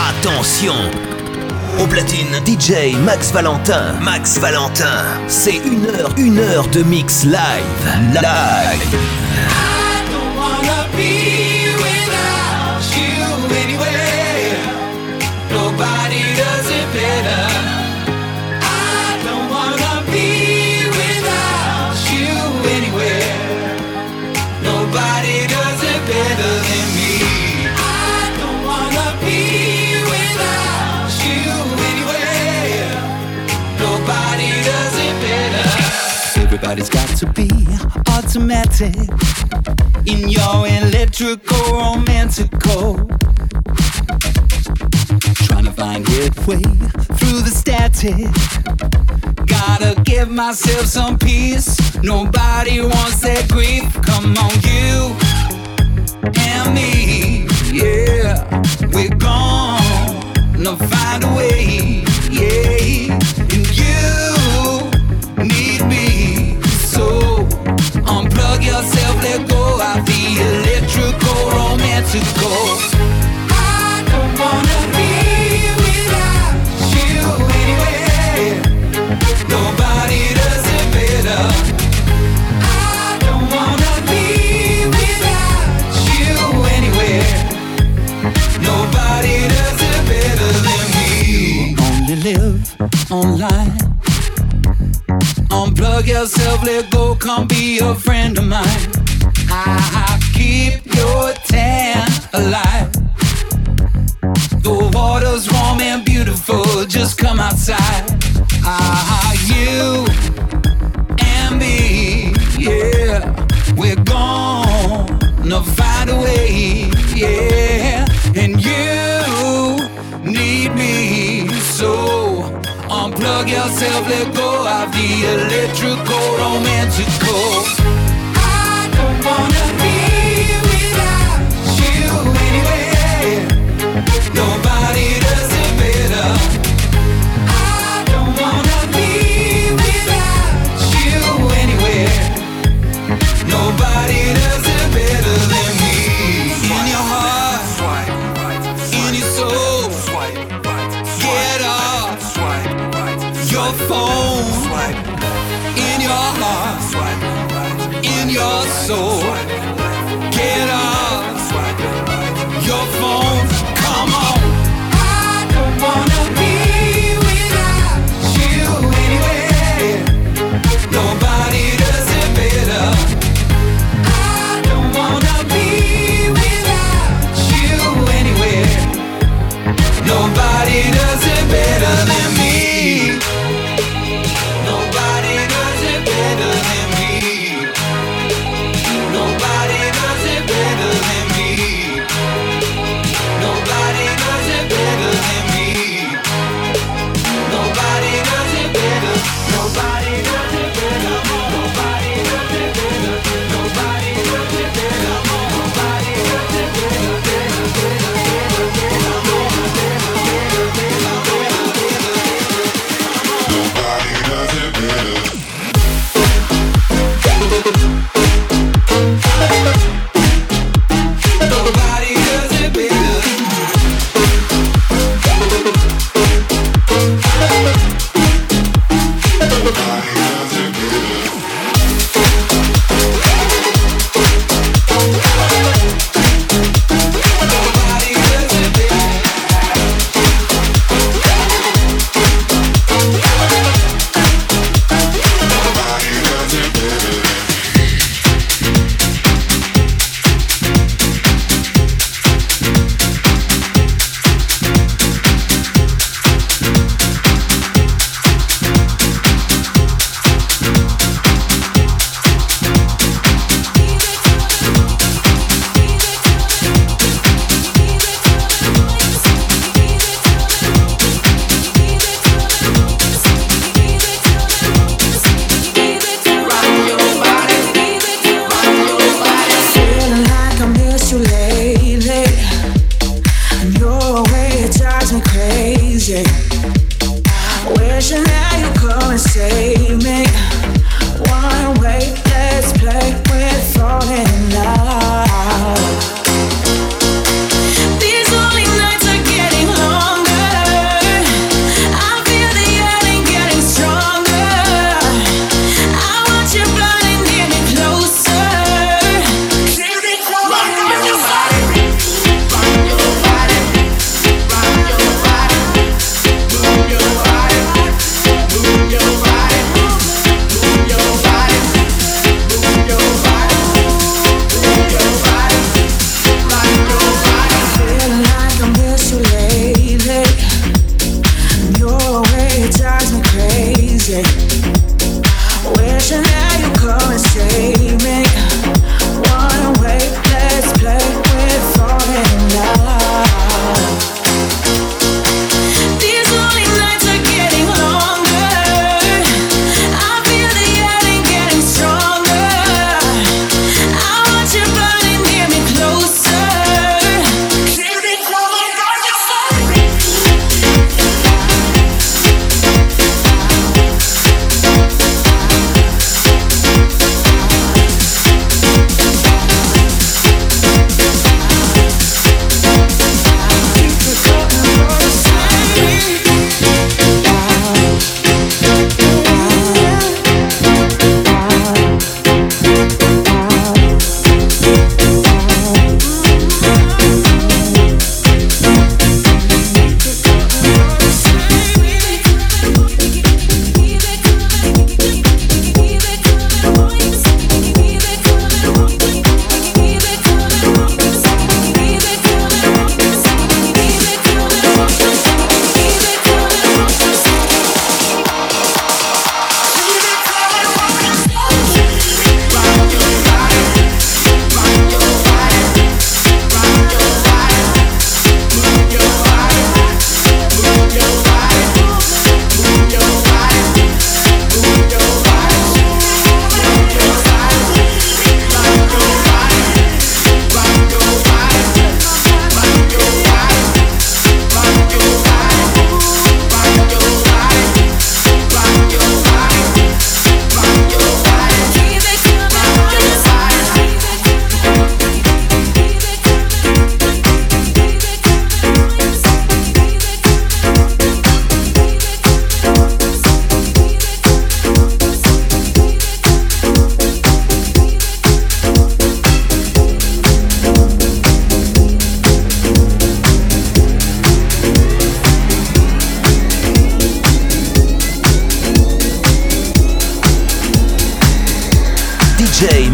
Attention! Au platine, DJ Max Valentin. Max Valentin. C'est une heure de mix live. Live. I don't wanna be without you anyway. Nobody does it better. I don't wanna be without you anywhere. Nobody does it better than me. I don't wanna be without you anywhere. Nobody does it better. Everybody's got to be automatic in your electrical romantical. Trying to find headway through the static. Gotta give myself some peace. Nobody wants that grief. Come on, you and me, yeah. We're gonna find a way, yeah. And you need me, so unplug yourself, let go of the electrical romantical. I don't wanna be without you anyway. Nobody does it better. I don't wanna be without you anywhere. Nobody does it better than me. Only live online. Unplug yourself, let go, come be a friend of mine. I keep your tan alive. The water's warm and beautiful, just come outside. You and me, yeah. We're gonna find a way, yeah. And you need me, so unplug yourself, let go of the electrical romantical. I don't wanna be without you anyway. Nobody does it better. I don't wanna be without you anywhere. Nobody does it better than me. In your heart, in your soul, get off your phone. In your heart, in your soul, get off your phone. Come on. I don't wanna be without you anyway. Nobody does it better. I don't wanna be without you anywhere. Nobody does it better than me. Nobody does it better than me. Nobody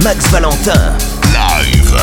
Max Valentin. Live.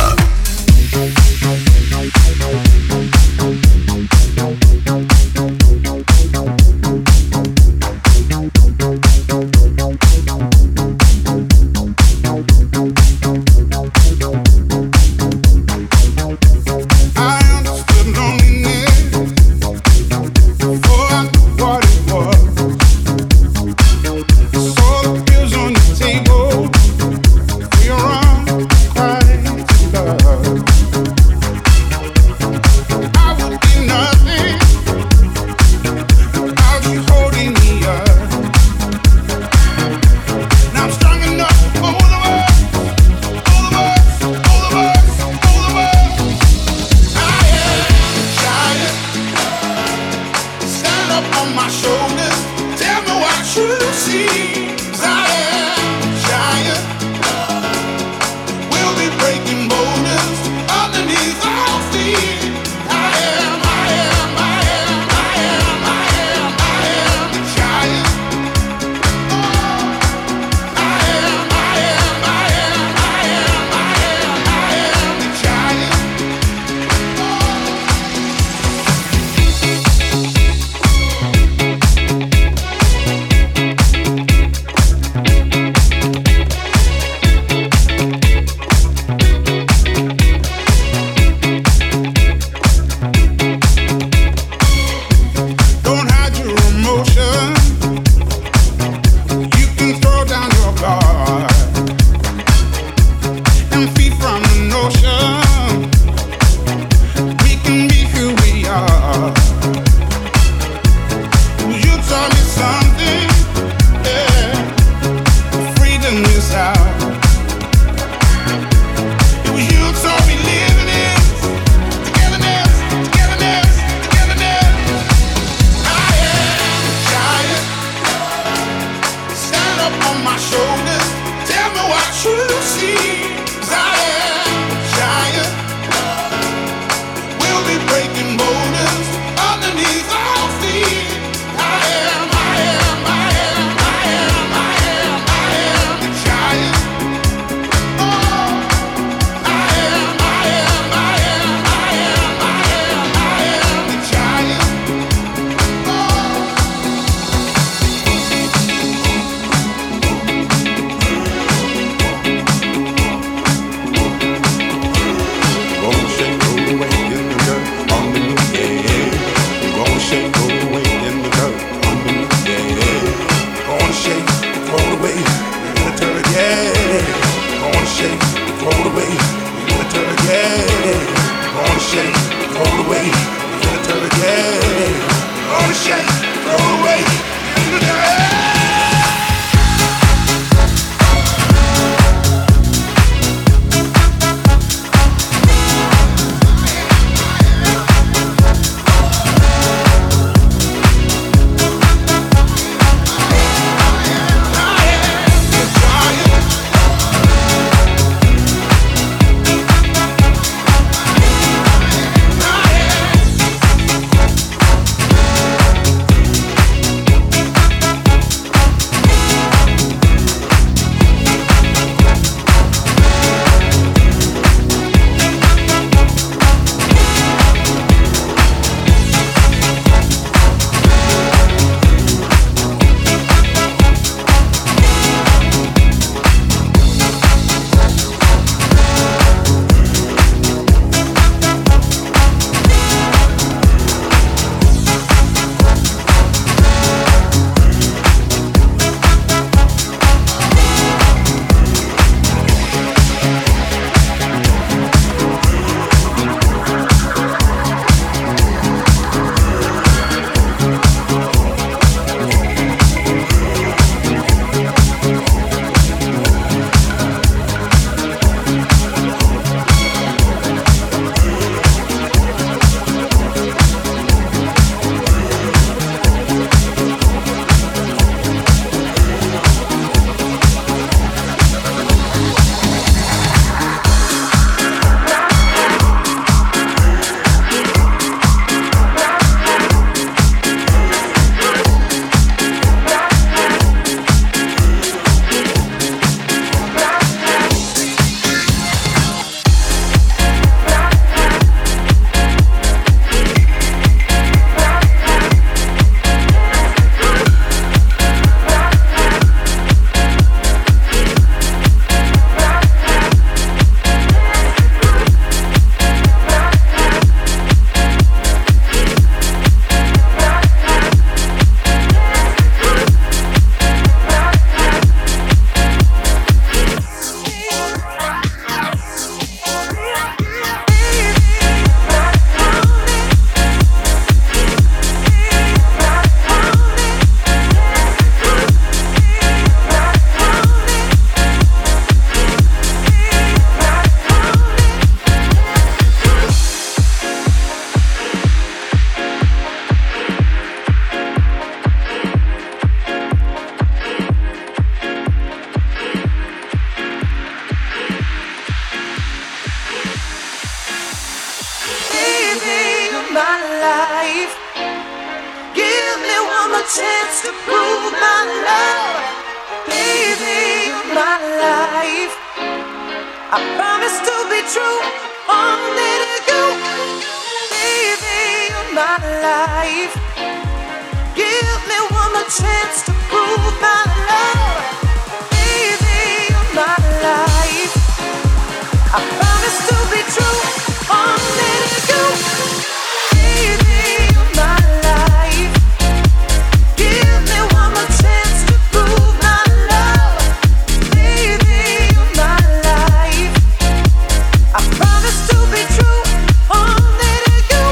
my life. Give me one more chance to prove my love. Baby, you're my life. I promise to be true, only to you. Baby, you're my life. Give me one more chance to prove my love. Baby, you're my life. I promise to be true, only to you. Baby, you're my life. Give me one more chance to prove my love. Baby, you're my life. I promise to be true, only to you.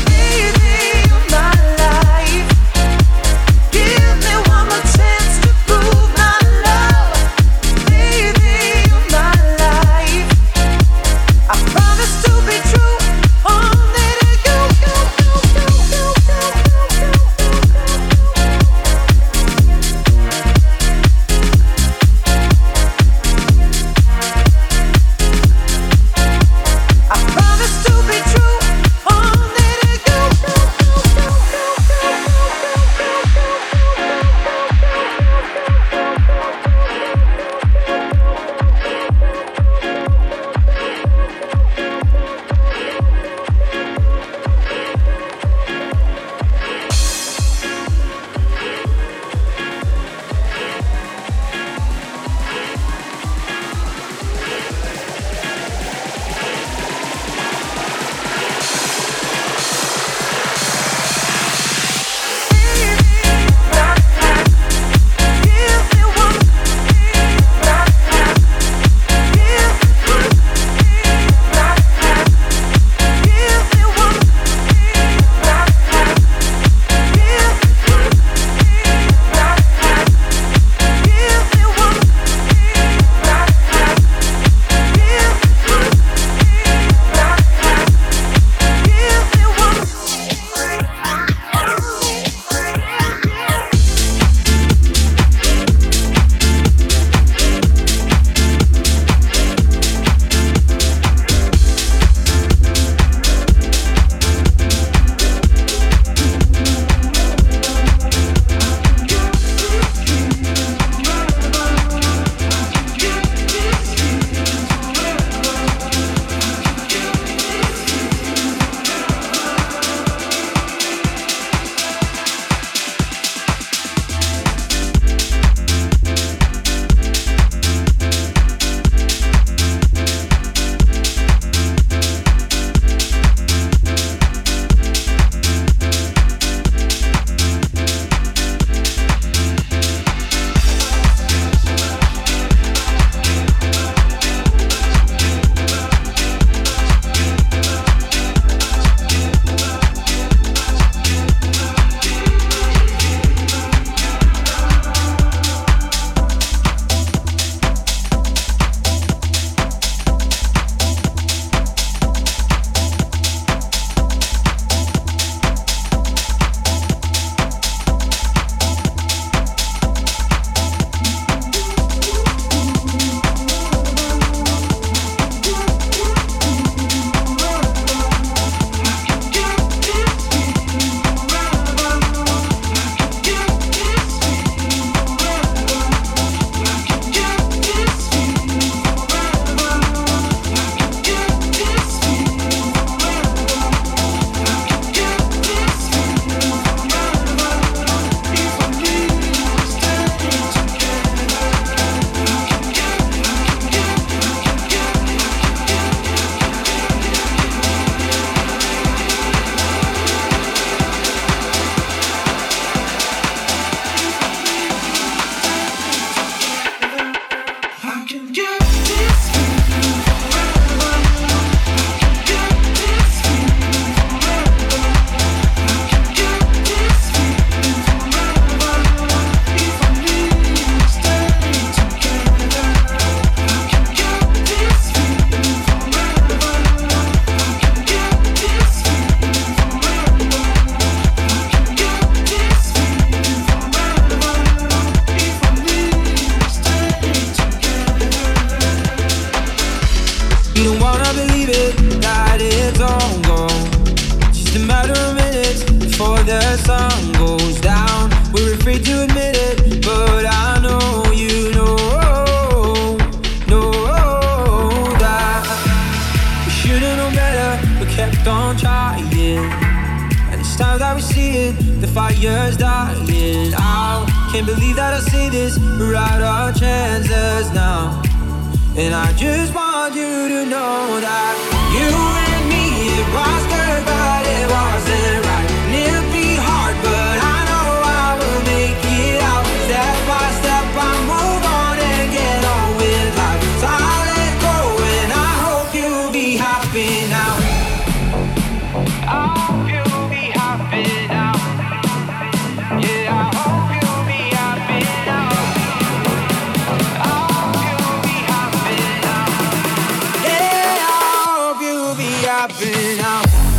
Baby, you're my life. Give me one more chance to prove. don't try it. And it's time that we see it, the fire's dying out. Can't believe that I say this, we're out of chances now. And I just want you to know that you and me, it was good but it wasn't right. And it'll be hard but I know I will make it out. Step by step I move on and get on with life. So I'll let go and I hope you'll be happy now. I hope you'll be happy now. Yeah, I hope you'll be happy now. I hope you'll be happy now. Yeah, I hope you'll be happy now.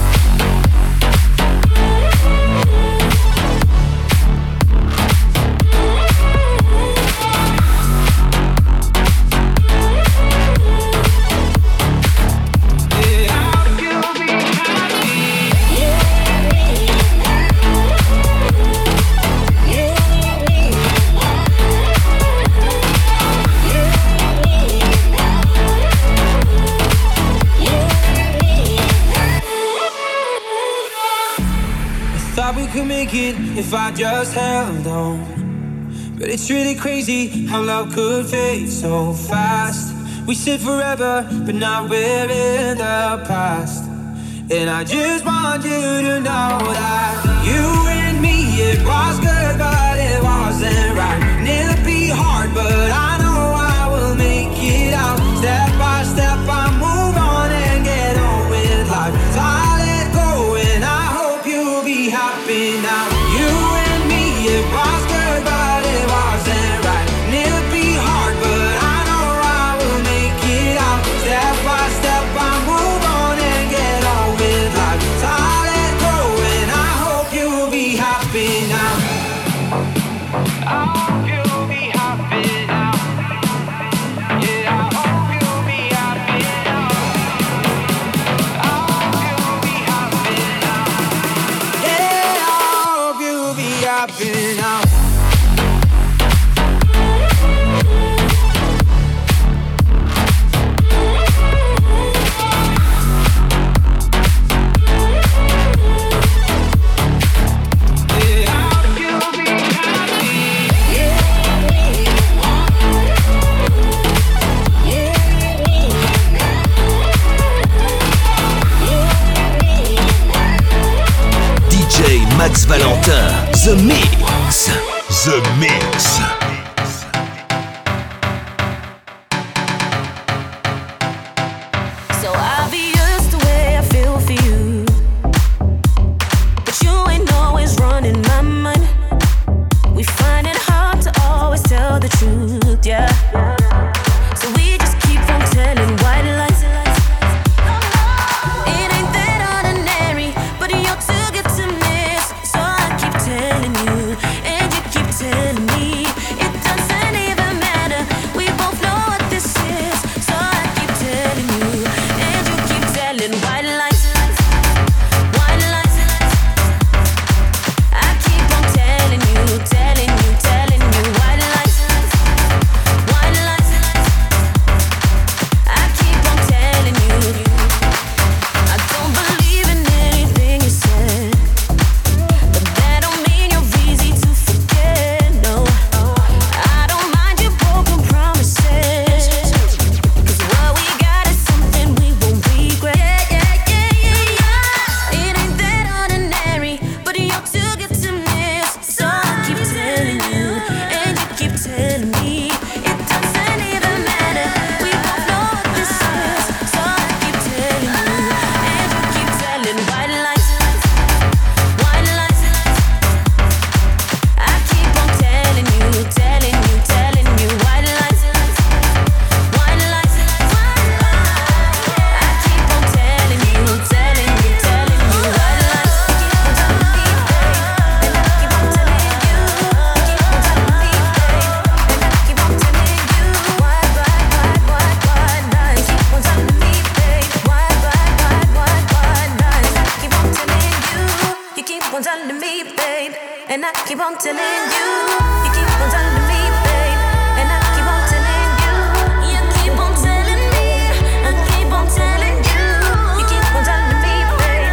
We could make it if I just held on. But it's really crazy how love could fade so fast. We said forever, but now we're in the past. And I just want you to know that you and me, it was good but it wasn't right. And it'll be hard but I know I will make it out. Step by step I move on and get on with life. So I let go and I hope you'll be happy now. You and me, it was good but it wasn't right. And it'll be hard but I know I will make it out. Step by step I move on and get on with life. So I let go and I hope you'll be happy now. I hope you'll be happy now. Yeah, I hope you'll be happy now. I hope you'll be happy now. Yeah, I hope you'll be happy now. Max Valentin, The Mix. The Mix. So obvious the way I feel for you, but you ain't always running my mind. We find it hard to always tell the truth, yeah. So we just keep on telling white lies. It ain't that ordinary, but you're too good to miss. So I keep telling you, and you keep telling me. It doesn't even matter, we both know what this is. So I keep telling you, and you keep telling white lies. White lies. I keep on telling you, telling you, telling you white lies. White lies. I keep on telling you. I don't believe in anything you said, but that don't mean you're easy to forget. No, I don't mind your broken promises, 'cause what we got is something we won't regret. It ain't that ordinary, but you're too good to miss. So I keep telling you, and you keep telling me. It doesn't even matter, we both know what this is. So I keep telling you, and you keep telling white lies. White lies. I keep on telling you, telling you, telling you white lies. White lies. I keep on telling you, telling you, telling you white lies. And I keep on telling you, keep on telling me, babe. And I keep on telling you, white lies. Keep on telling me, babe. White lies. I keep on telling you, you keep on telling me, babe. And I keep on telling you, you keep on telling me, babe. And I keep on telling you, you keep on telling me, I keep on telling you, you keep on telling me, babe.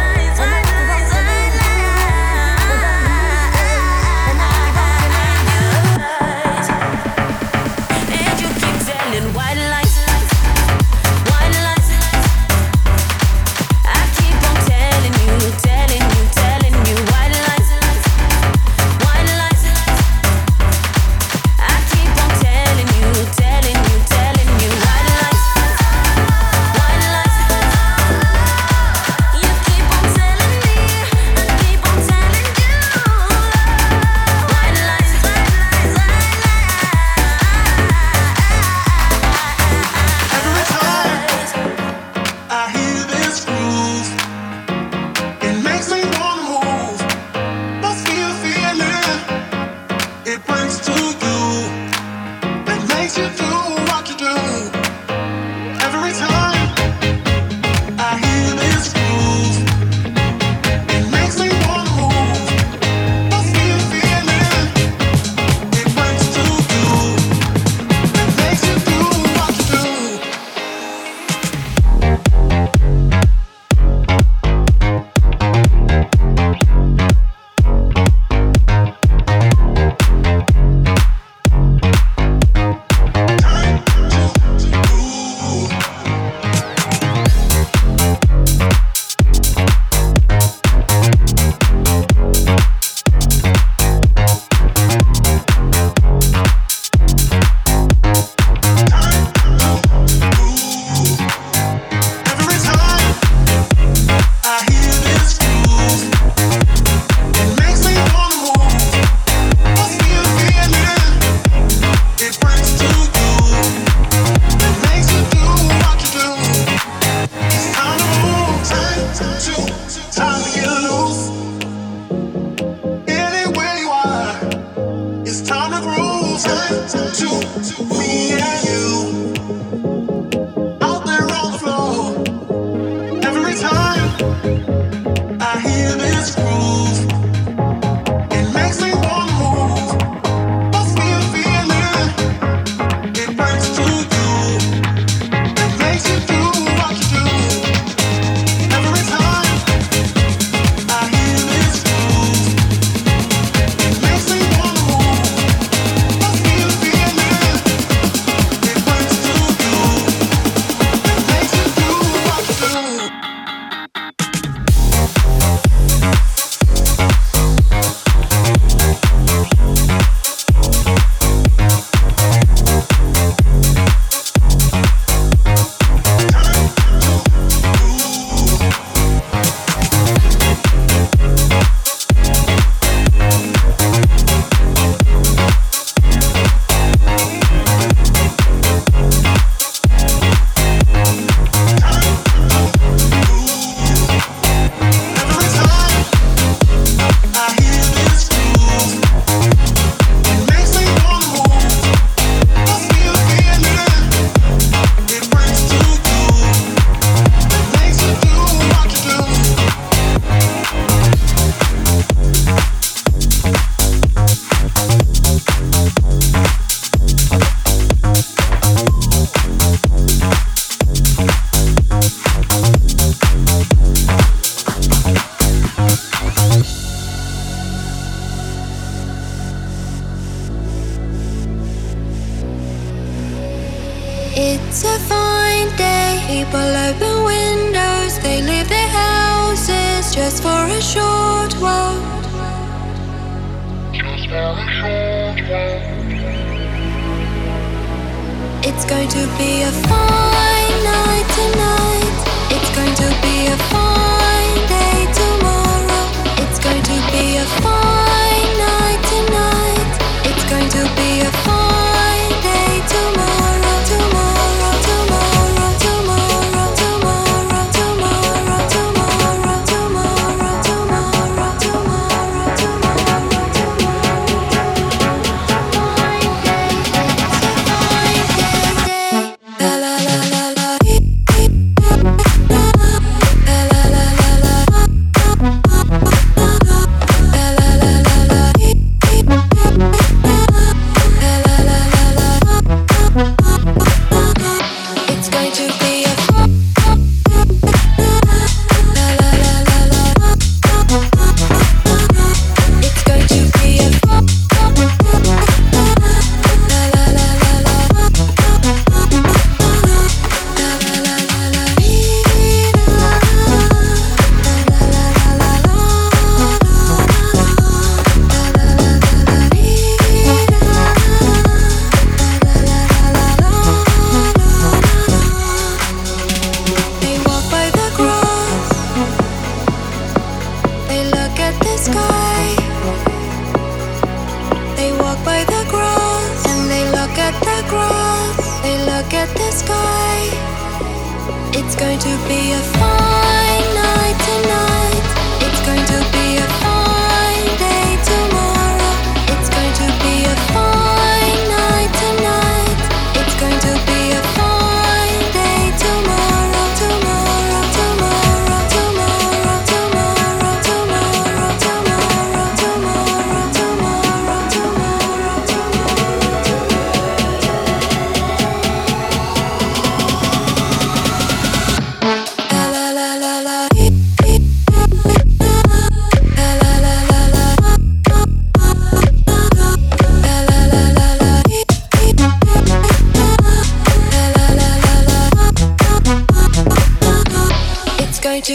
It's going to be a fine night tonight. It's going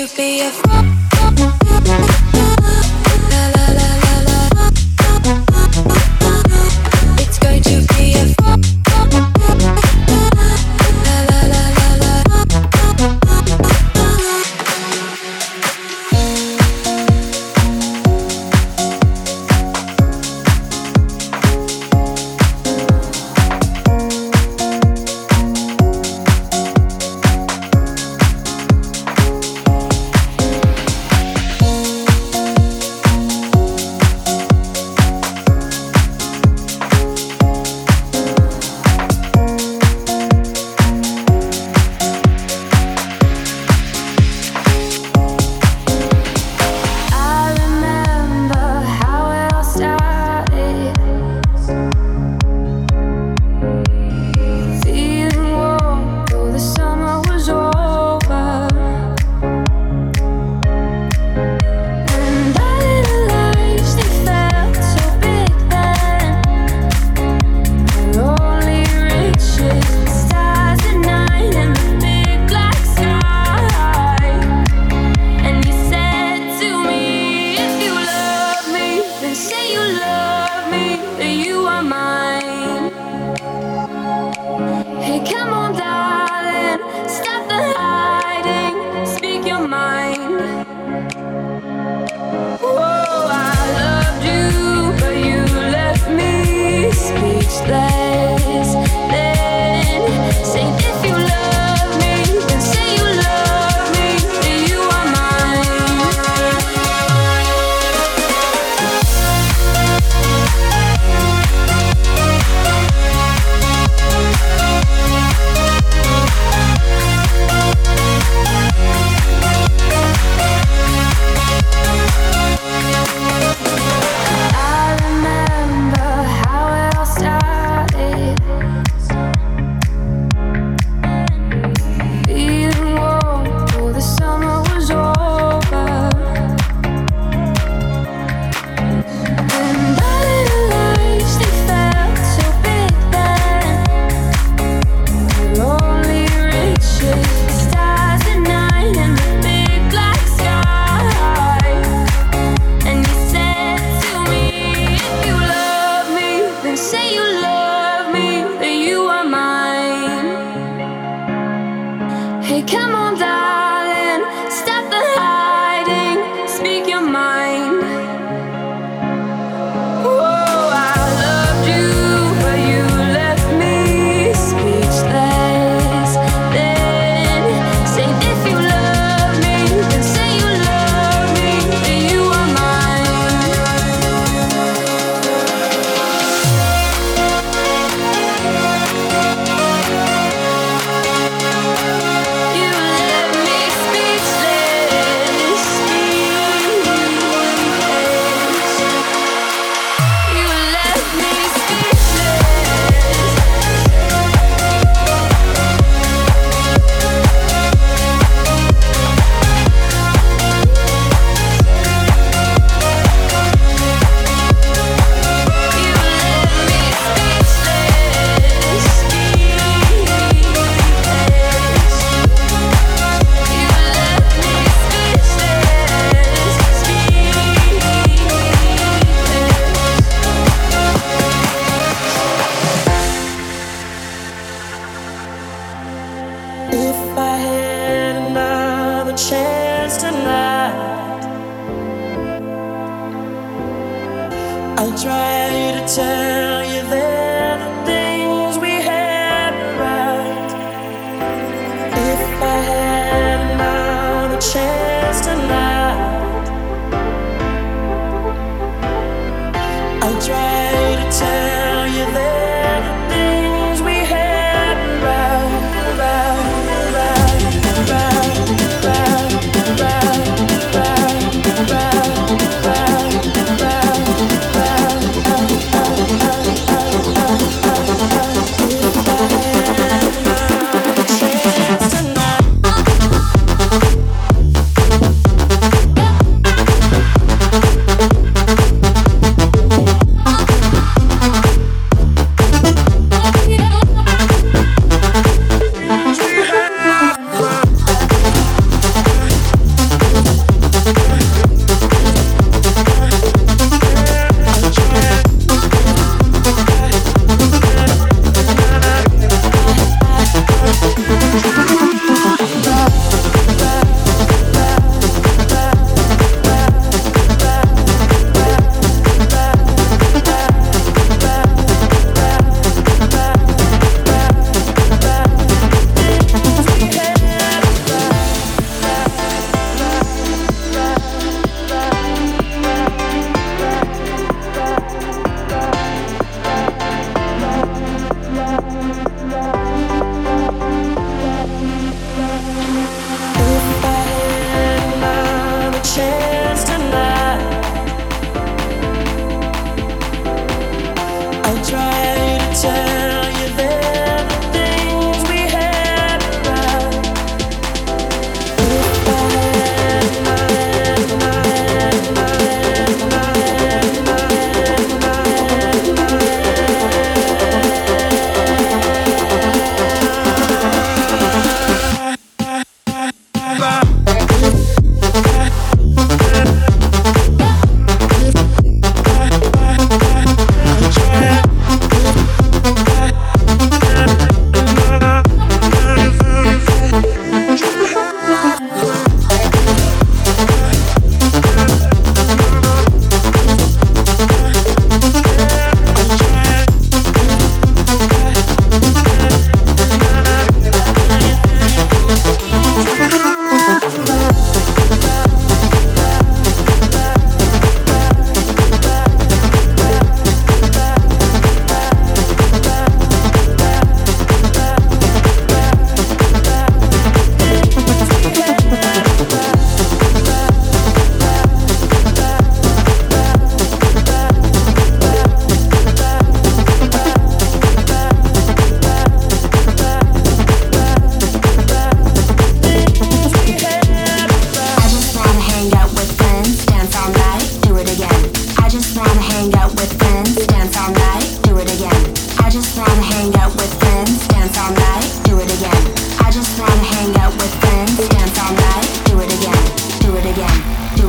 be a it's going to be a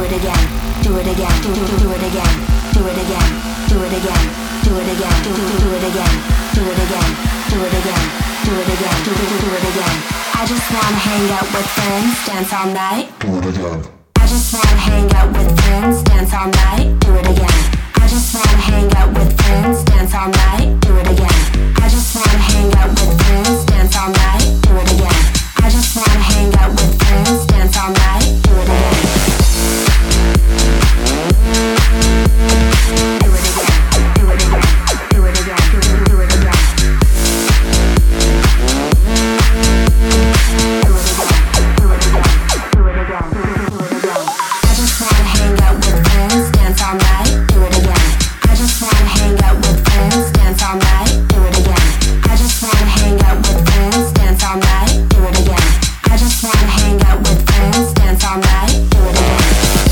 it again, do it again, do it again, do it again, do it again, do it again, do it again, do it again, do it again, do it again, do it again. I just wanna hang out with friends, dance all night. Do it again. I just wanna hang out with friends, dance all night. Do it again. I just wanna hang out with friends, dance all night. Do it again. I just wanna hang out with friends, dance all night. Do it again. I just wanna hang out with friends, dance all night. Do it again. Do it again. Do it again. Do it again. Do it again. I just wanna hang out with friends, dance all night. Do it again. I just wanna hang out with friends, dance all night. Do it again. I just wanna hang out with friends, dance all night. Do it again. I just wanna hang out with friends, dance all night. Do it again.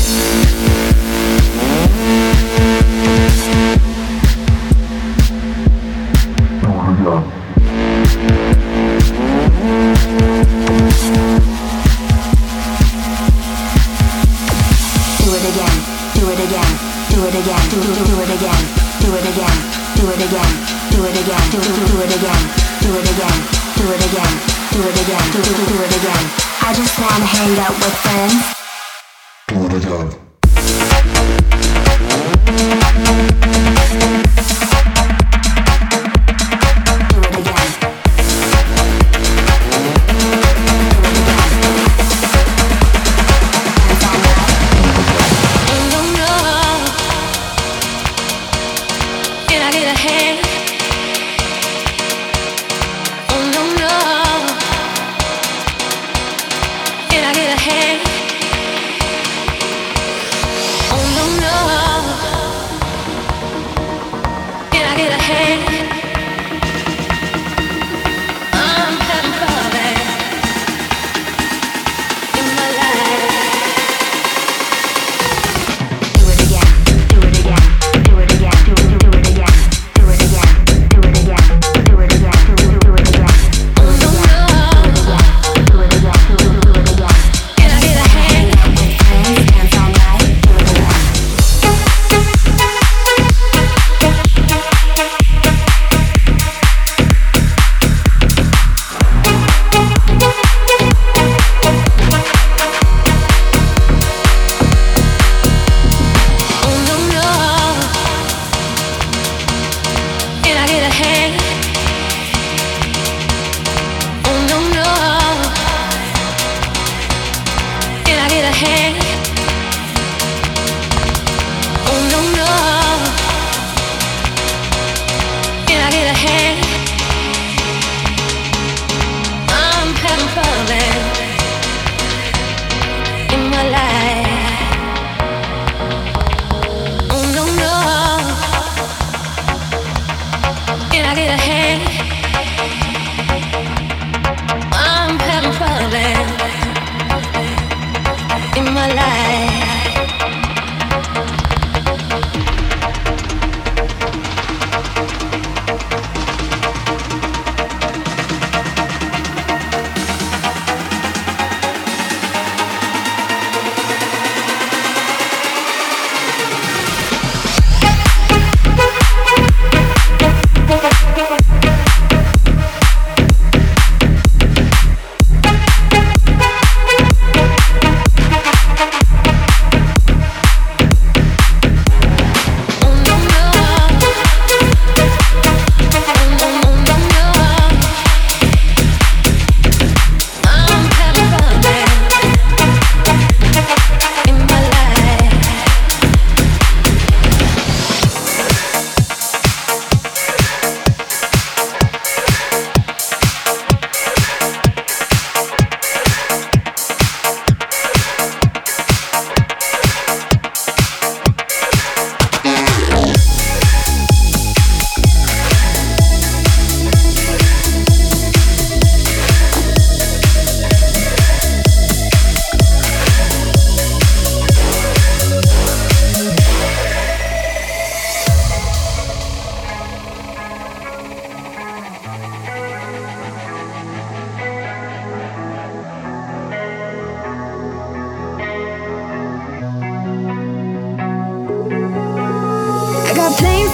Do it again, do it again, do it again, do it again, do it again, do it again, do it again, do it again, do it again, do it again, do it again, do it again. I just wanna hang out with friends. Do it again.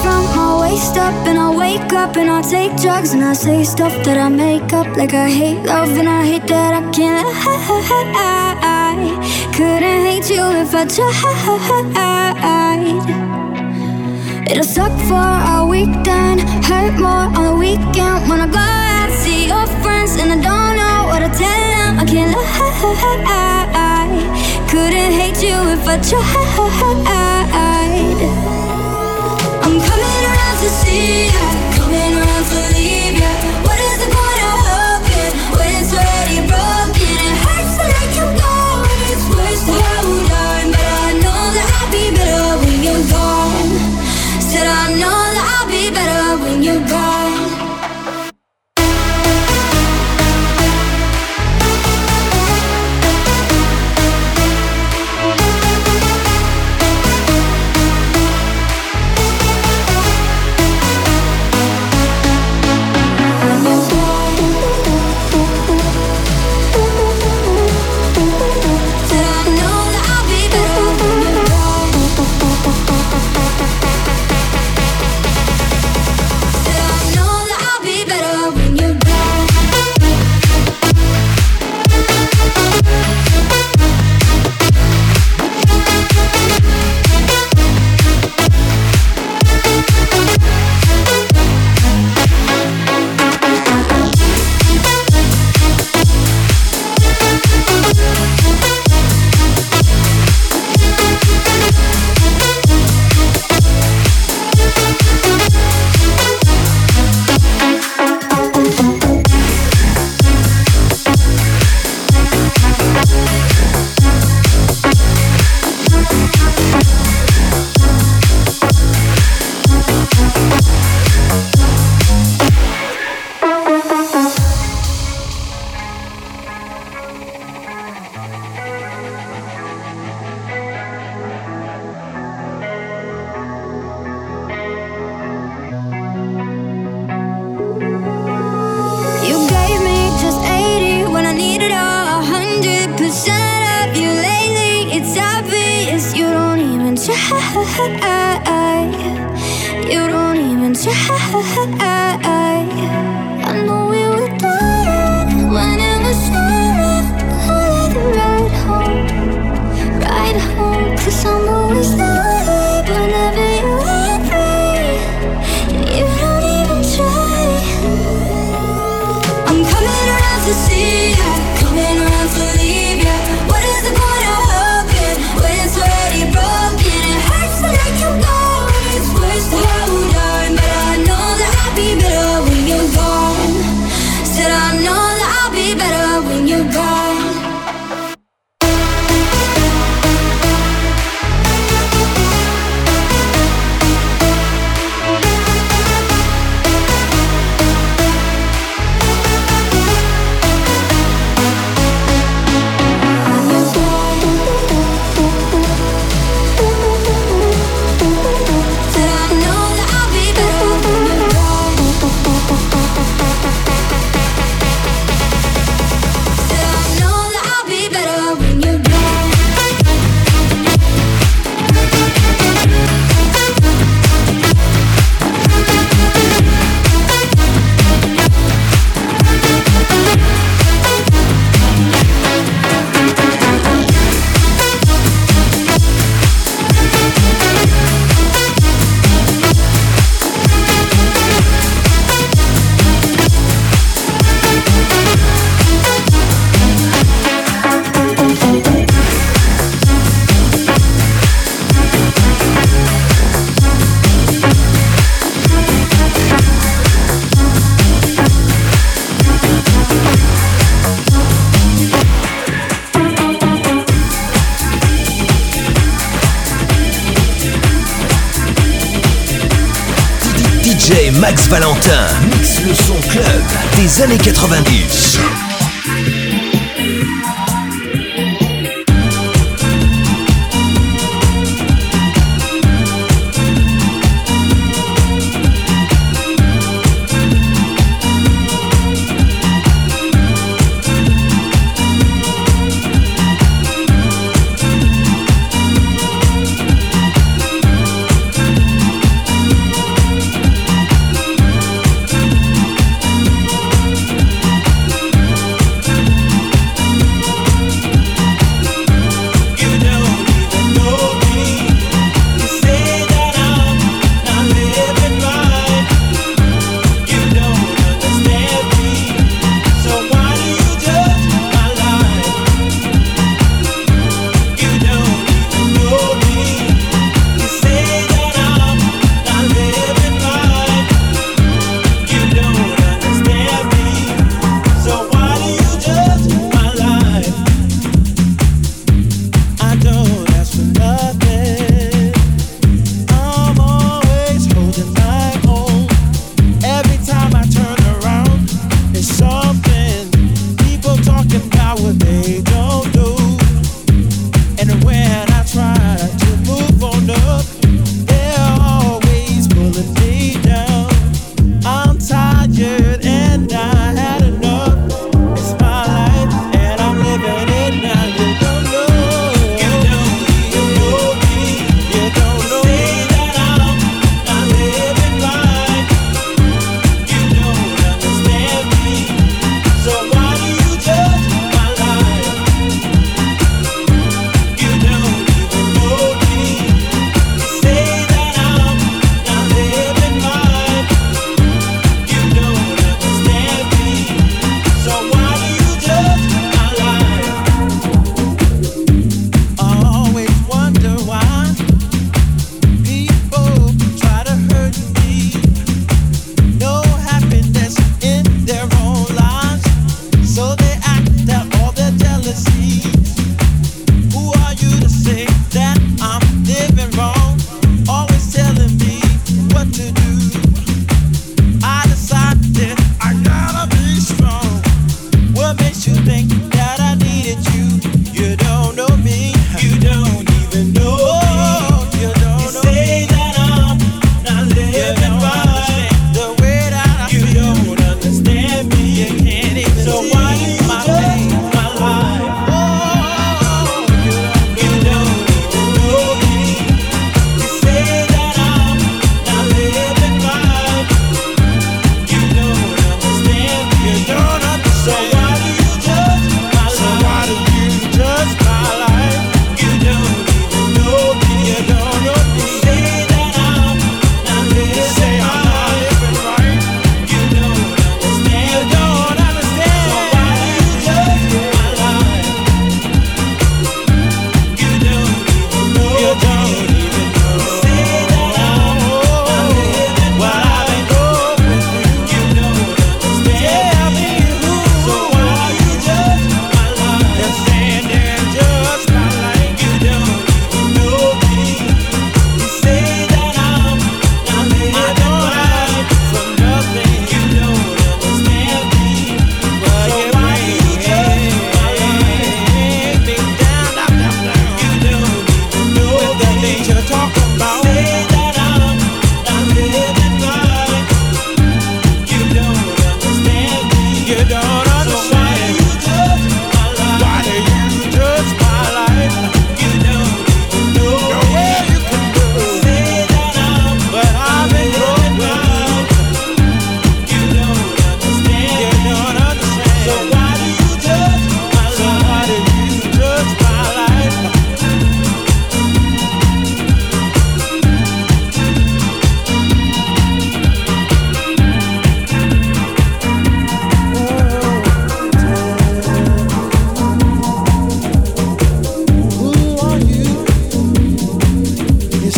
from my waist up, and I wake up and I take drugs, and I say stuff that I make up, like I hate love and I hate that I can't lie. Couldn't hate you if I tried. It'll suck for a weekend, hurt more on the weekend. When I go out, see your friends, and I don't know what to tell them. I can't lie. Couldn't hate you if I tried. I'm coming around to see ya, coming around to leave ya. What is the point of hoping when it's already broken? It hurts to let you go, and it's worse to hold on. But I know that I'll be better when you're gone. Said I know that I'll be better when you're gone. You don't even try. I know we were done when it was over. I'll ride home, 'cause I'm always there whenever you want me. You don't even try. I'm coming around to see ya, coming around to leave ya. What is the point of hoping when it's already broken? It hurts to let you go, and it's worse to hold on. But I know that I'll be better when you're gone. Said I know that I'll be better when you're gone. DJ Max Valentin mixe le son club des années 90.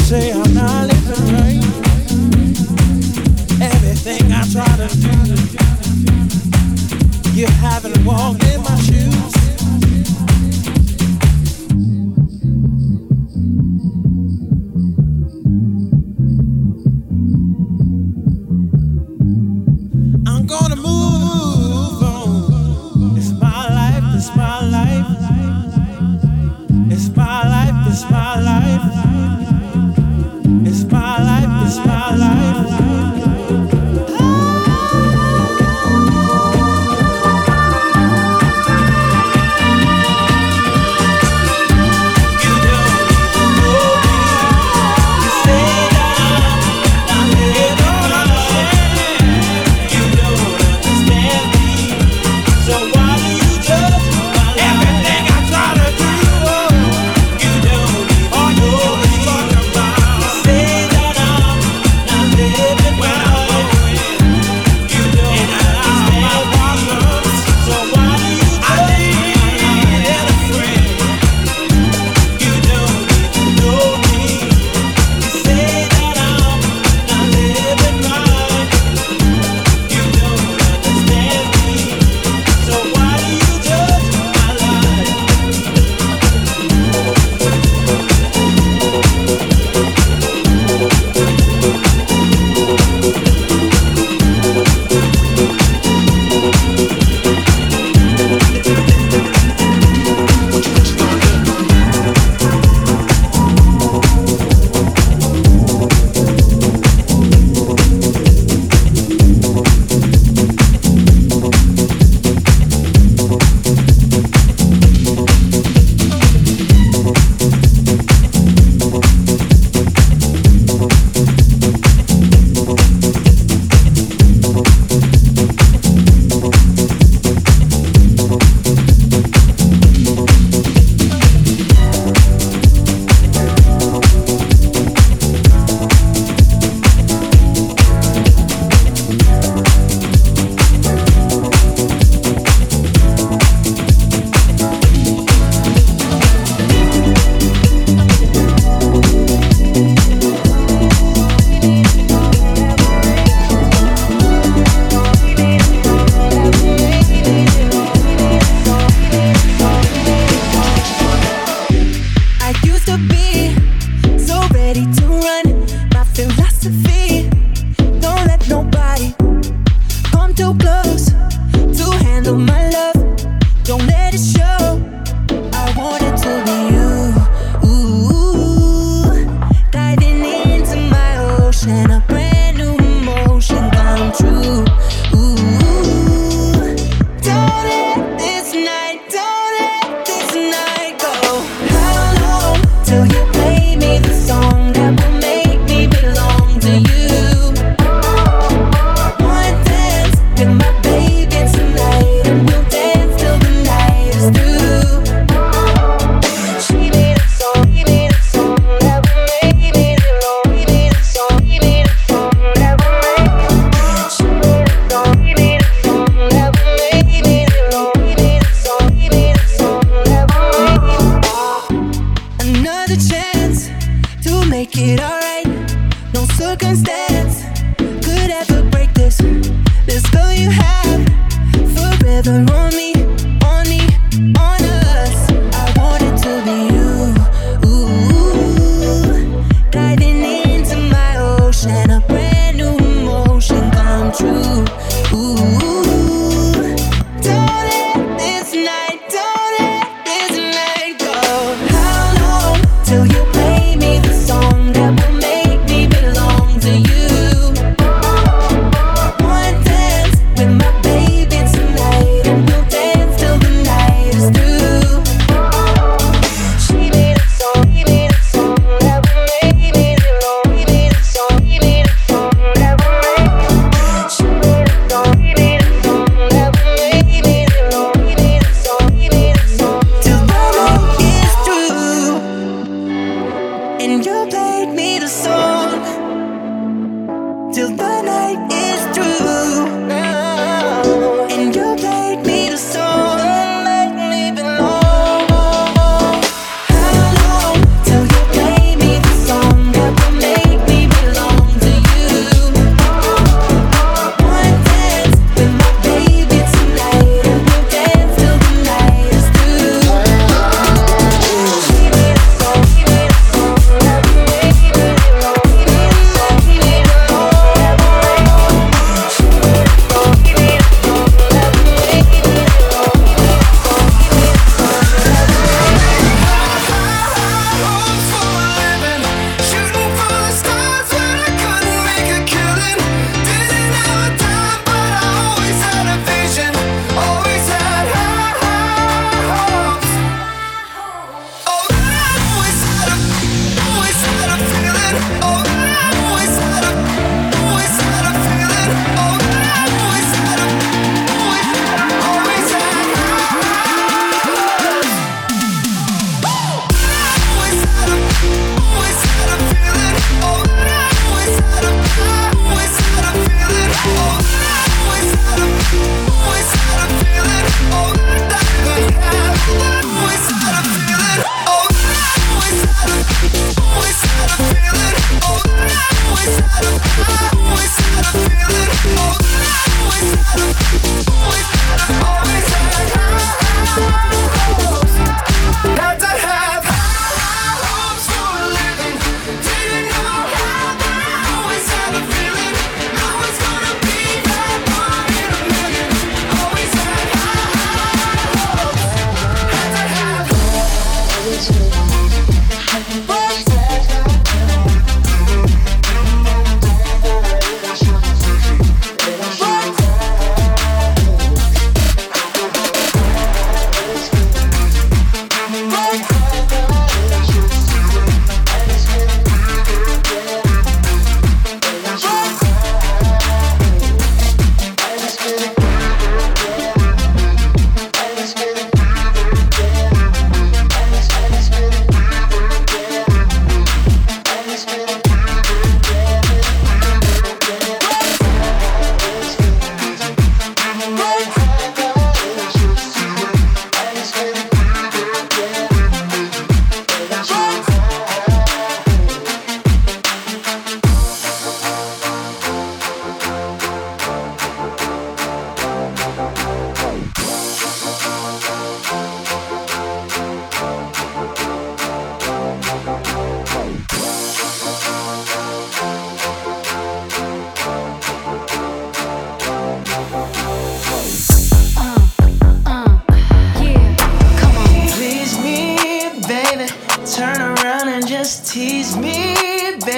say I'm not living right. Everything I try to do, you haven't walked in my shoes. I'm gonna move on. It's my life, it's my life. It's my life, it's my life. It's my life, it's my life.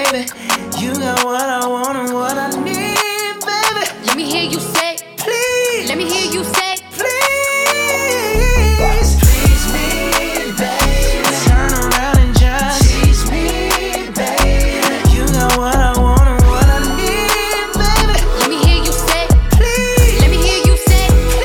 baby. You got what I want and what I need, baby. Let me hear you say, please. Let me hear you say, please. Please me, baby. Turn around and just tease me, baby. You got what I want and what I need, baby. Let me hear you say, please. Let me hear you say,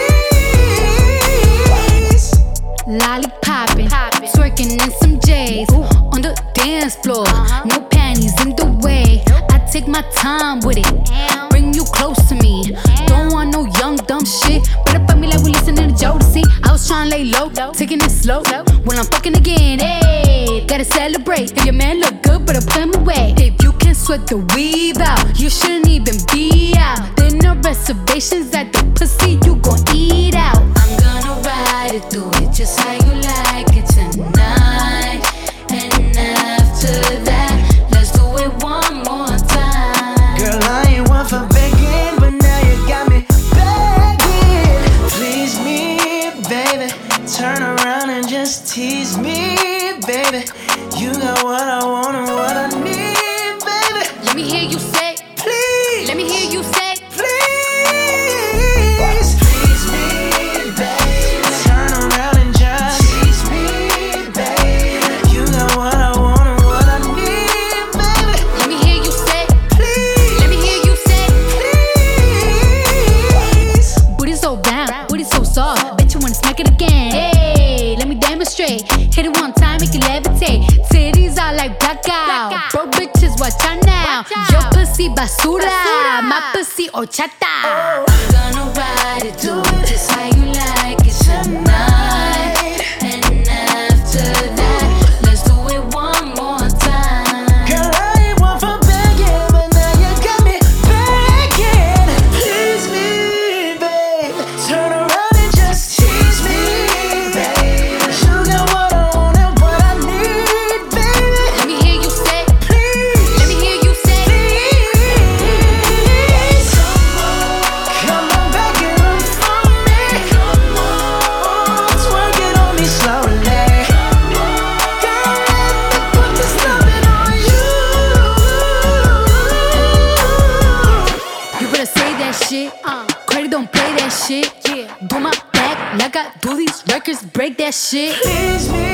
please. Lollipoppin', twerking in some J's on the dance floor. No panties in the way. I take my time with it. Bring you close to me. Don't want no young dumb shit. Better fuck me like we listening to Jodeci. I was tryna lay low, taking it slow. When I'm fucking again, hey, gotta celebrate. If your man look good, better put him away. If you can sweat the weave out, you shouldn't even be out. There no reservations at the pussy, you gon' eat out. I'm gonna ride it, do it just how you like it tonight. And after that, let's do it one more time. Girl, I ain't one for begging, but now you got me begging. Please me, baby. Turn around and just tease me, baby. You got what I want and what I need, baby. Let me hear you say, please. Let me hear you say, please. Please me, baby. Turn around and just tease me, baby. You got what I want and what I need, baby. Let me hear you say, please. Let me hear you say, please. booty so round, booty so soft. Bet you wanna smack it again. Hey, let me demonstrate. Hit it one time, make it levitate. Titties are like blackout. Bro, bitches, watch out now. Your pussy basura, my pussy horchata. I'm gonna ride it, do it just how you like it tonight. And after that, let's do it one more time. Girl, I ain't one for begging, but now you got me begging. Please me, babe. Turn around and just tease me, babe. You got what I want and what I need, baby. Let me hear you say, please. Let me hear you say, please. Come on, back it up for me. Come on, twerk it on me slowly. Girl, let me put this loving on you. you better say that shit. Credit don't play that shit. Do my back like I do these records, break that shit. Please me,